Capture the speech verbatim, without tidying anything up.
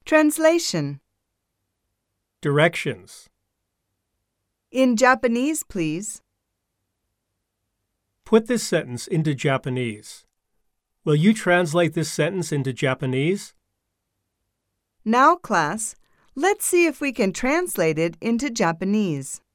Translation. Directions. In Japanese, please. Put this sentence into Japanese. Will you translate this sentence into Japanese? Now, class, let's see if we can translate it into Japanese.